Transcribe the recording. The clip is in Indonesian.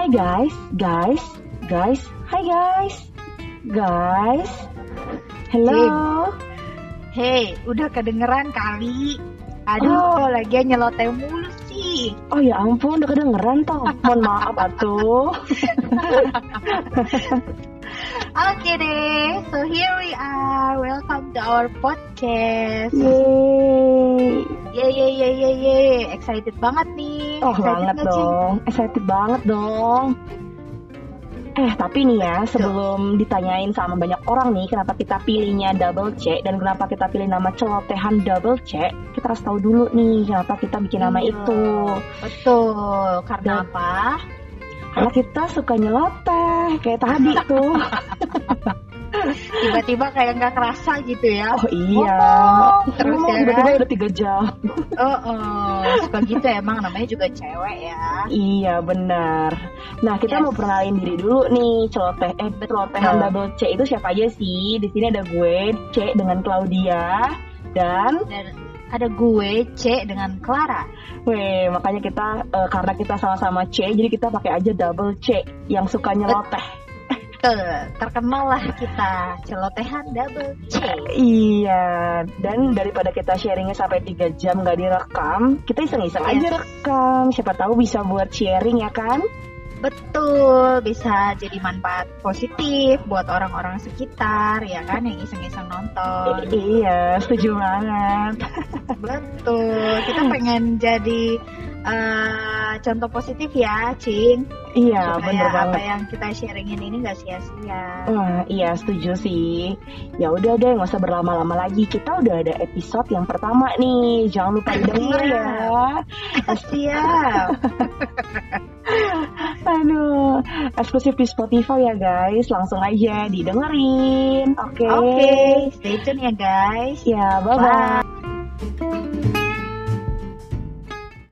Hai guys, hi guys, hello. Hey, udah kedengeran kali. Aduh, lagian nyeloteh mulu sih. Oh ya ampun, udah kedengeran toh. Mohon maaf atuh. Oke deh, so here we are. Welcome to our podcast. Yeay. Excited banget nih. Oh banget dong, excited banget dong. Tapi nih ya, sebelum ditanyain sama banyak orang nih kenapa kita pilihnya Double C dan kenapa kita pilih nama celotehan Double C, kita harus tahu dulu nih kenapa kita bikin nama itu. Betul, karena apa? Karena kita suka nyeloteh kayak tadi tuh. Tiba-tiba kayak nggak kerasa gitu ya. Oh iya. Terus ya tiba-tiba kan? udah 3 jam. Suka gitu emang, namanya juga cewek ya. Iya benar. Nah kita mau perkenalin diri dulu nih, celotehan Double C itu siapa aja sih? Di sini ada gue C dengan Claudia dan ada gue C dengan Clara. Makanya kita karena kita sama-sama C, jadi kita pakai aja Double C yang suka nyeloteh. Terkenal lah kita celotehan Double C. Iya, dan daripada kita sharingnya sampai 3 jam gak direkam, kita iseng-iseng aja rekam. Siapa tahu bisa buat sharing ya kan? Betul, bisa jadi manfaat positif buat orang-orang sekitar ya kan yang iseng-iseng nonton. Iya, setuju banget. Betul, kita pengen jadi contoh positif ya, Cing. Iya, supaya bener banget. Apa yang kita sharingin ini nggak sia-sia. Wah, iya setuju sih. Ya udah deh, nggak usah berlama-lama lagi. Kita udah ada episode yang pertama nih. Jangan lupa didengar ya. Siap. Aduh, eksklusif di Spotify ya guys. Langsung aja didengerin. Oke. Stay tune ya guys. Ya, bye-bye.